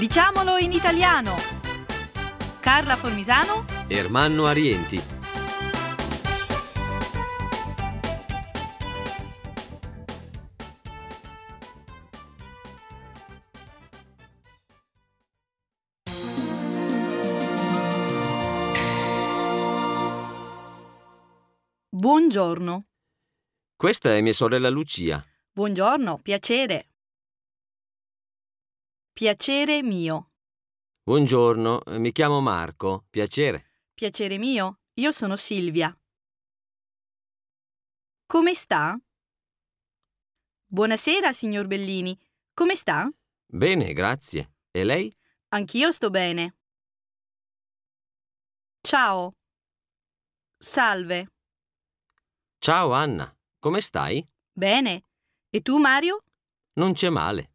Diciamolo in italiano. Carla Formisano, Ermanno Arienti. buongiorno. Questa è mia sorella Lucia. Buongiorno, piacere. Piacere mio. Buongiorno, mi chiamo Marco. Piacere. Piacere mio, io sono Silvia. Come sta? Buonasera, signor Bellini. Come sta? Bene, grazie. E lei? Anch'io sto bene. Ciao. Salve. Ciao Anna, come stai? Bene. E tu, Mario? Non c'è male.